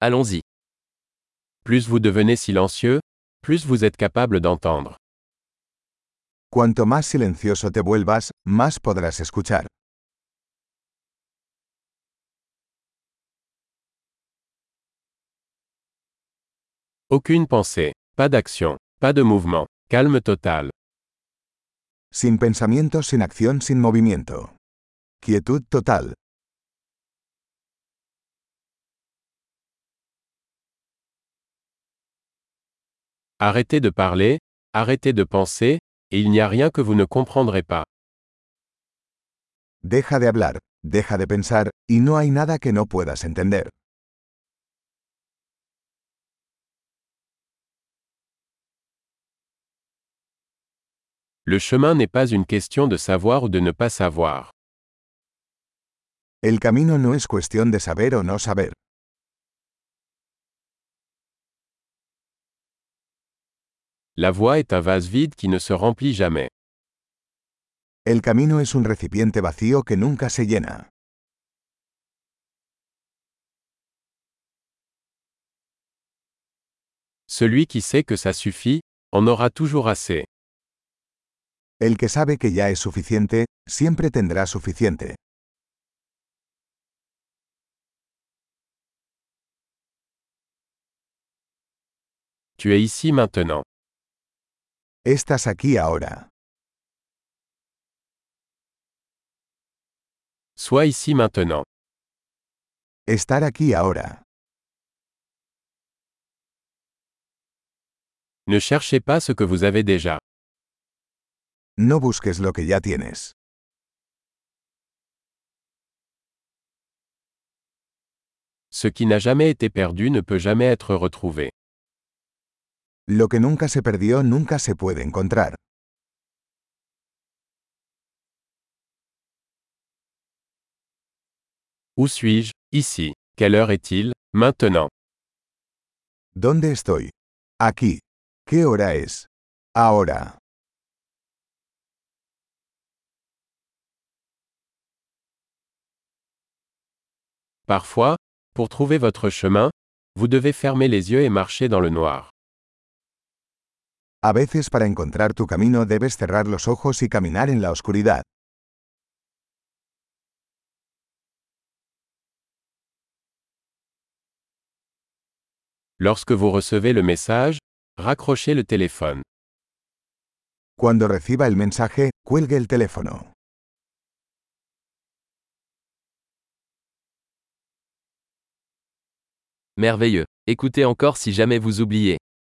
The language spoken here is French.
Allons-y. Plus vous devenez silencieux, plus vous êtes capable d'entendre. Cuanto más silencioso te vuelvas, más podrás escuchar. Aucune pensée, pas d'action, pas de mouvement, calme total. Sin pensamiento, sin acción, sin movimiento. Quietud total. Arrêtez de parler, arrêtez de penser, et il n'y a rien que vous ne comprendrez pas. Deja de hablar, deja de pensar, y no hay nada que no puedas entender. Le chemin n'est pas une question de savoir ou de ne pas savoir. El camino no es cuestión de saber o no saber. La voie est un vase vide qui ne se remplit jamais. El camino es un recipiente vacío que nunca se llena. Celui qui sait que ça suffit, en aura toujours assez. El que sabe que ya es suficiente, siempre tendrá suficiente. Tu es ici maintenant. Estás aquí ahora. Sois ici maintenant. Estar aquí ahora. Ne cherchez pas ce que vous avez déjà. No busques lo que ya tienes. Ce qui n'a jamais été perdu ne peut jamais être retrouvé. Lo que nunca se perdió nunca se puede encontrar. Où suis-je? Ici. Quelle heure est-il? Maintenant. ¿Dónde estoy? Aquí. ¿Qué hora es? Ahora. Parfois, pour trouver votre chemin, vous devez fermer les yeux et marcher dans le noir. A veces para encontrar tu camino debes cerrar los ojos y caminar en la oscuridad. Lorsque vous recevez le message, raccrochez le téléphone. Cuando reciba el mensaje, cuelgue el teléfono. Merveilleux. Écoutez encore si jamais vous oubliez.